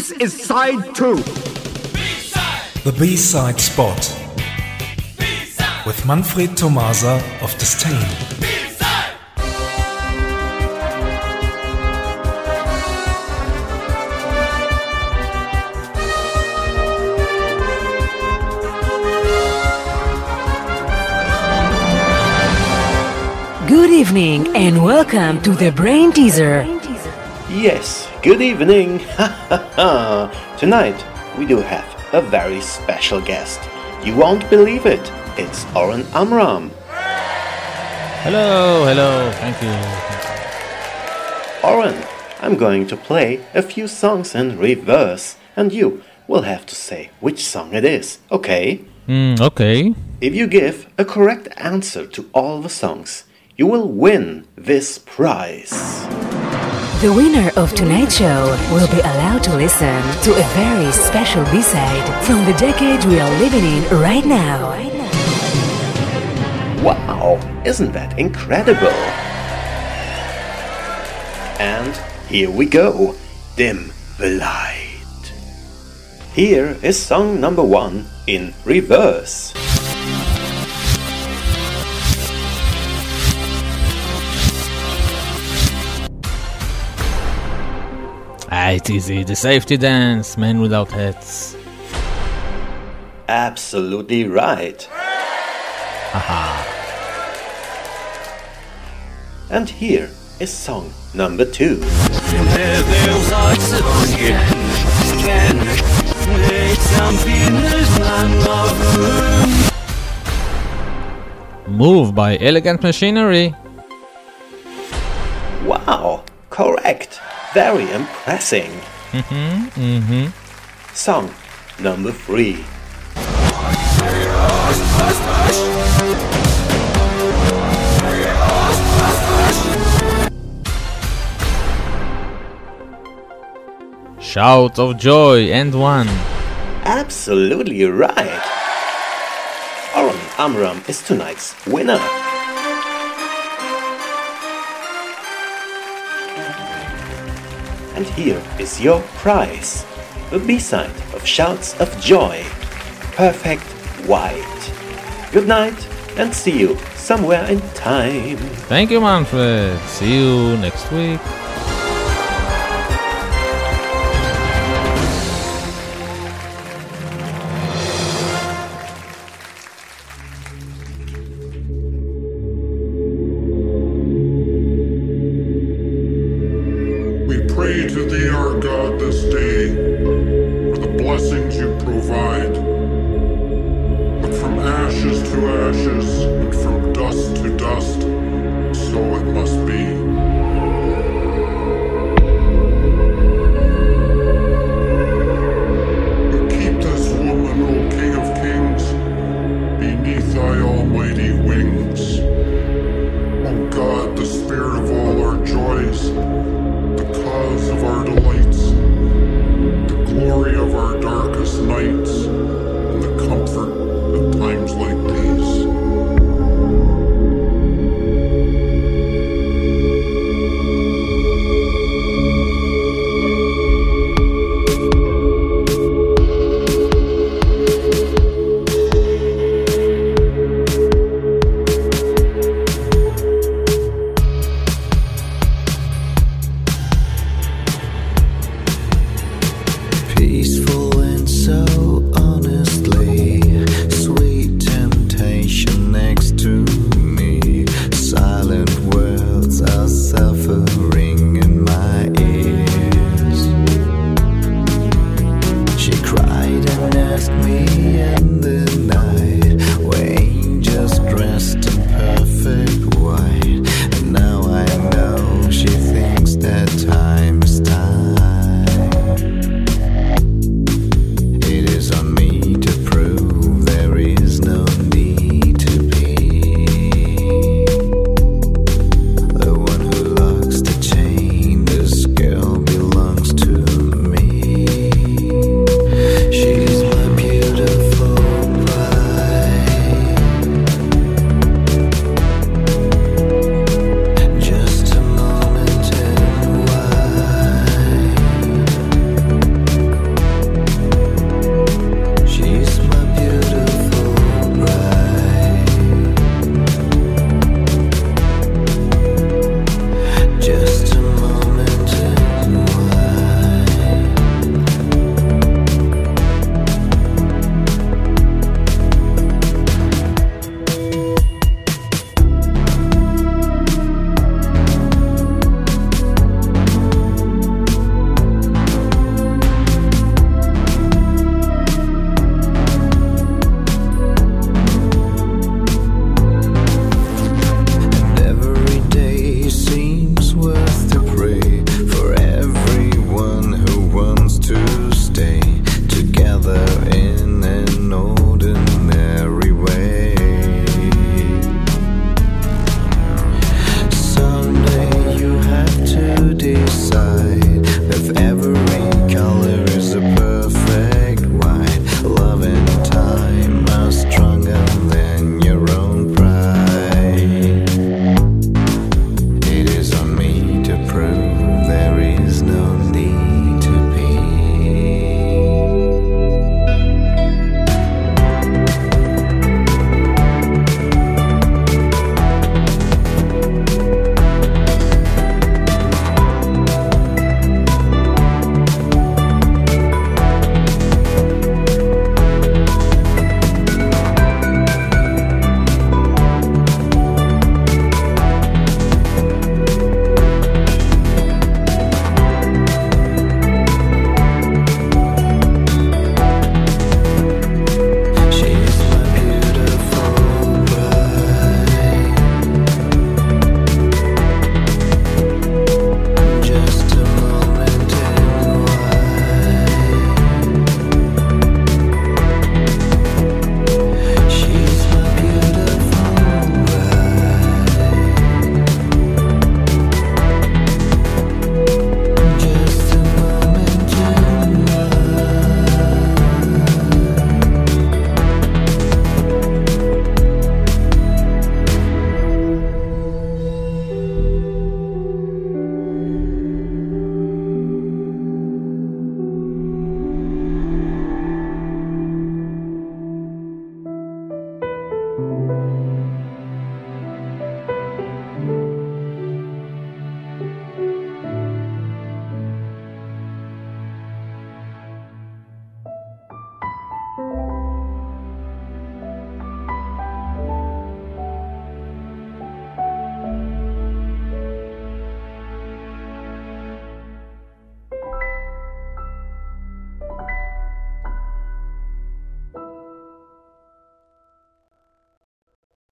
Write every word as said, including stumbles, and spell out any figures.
This is side two. B-side. The B-side spot. B-side. With Manfred Tomasa of Disdain. B-side. Good evening and welcome to the Brain Teaser. Yes, good evening. Tonight we do have a very special guest. You won't believe it. It's Oren Amram. Hello, hello, thank you. Oren, I'm going to play a few songs in reverse, and you will have to say which song it is, okay? Mm, okay. If you give a correct answer to all the songs, you will win this prize. The winner of tonight's show will be allowed to listen to a very special B-side from the decade we are living in right now. Wow, isn't that incredible? And here we go, Dim the Light. Here is song number one in reverse. Ah, it's easy. The Safety Dance, Men Without Hats. Absolutely right. Haha. And here is song number two. Move by Elegant Machinery. Wow, correct. Very impressive. Mm-hmm, mm-hmm. Song number three. Shout of Joy and One. Absolutely right. Oren Amram is tonight's winner. And here is your prize, the B-side of Shouts of Joy, Perfect White. Good night and see you somewhere in time. Thank you, Manfred. See you next week. Pray to thee, our God, this day, for the blessings you provide. But from ashes to ashes, and from dust to dust, so it must be.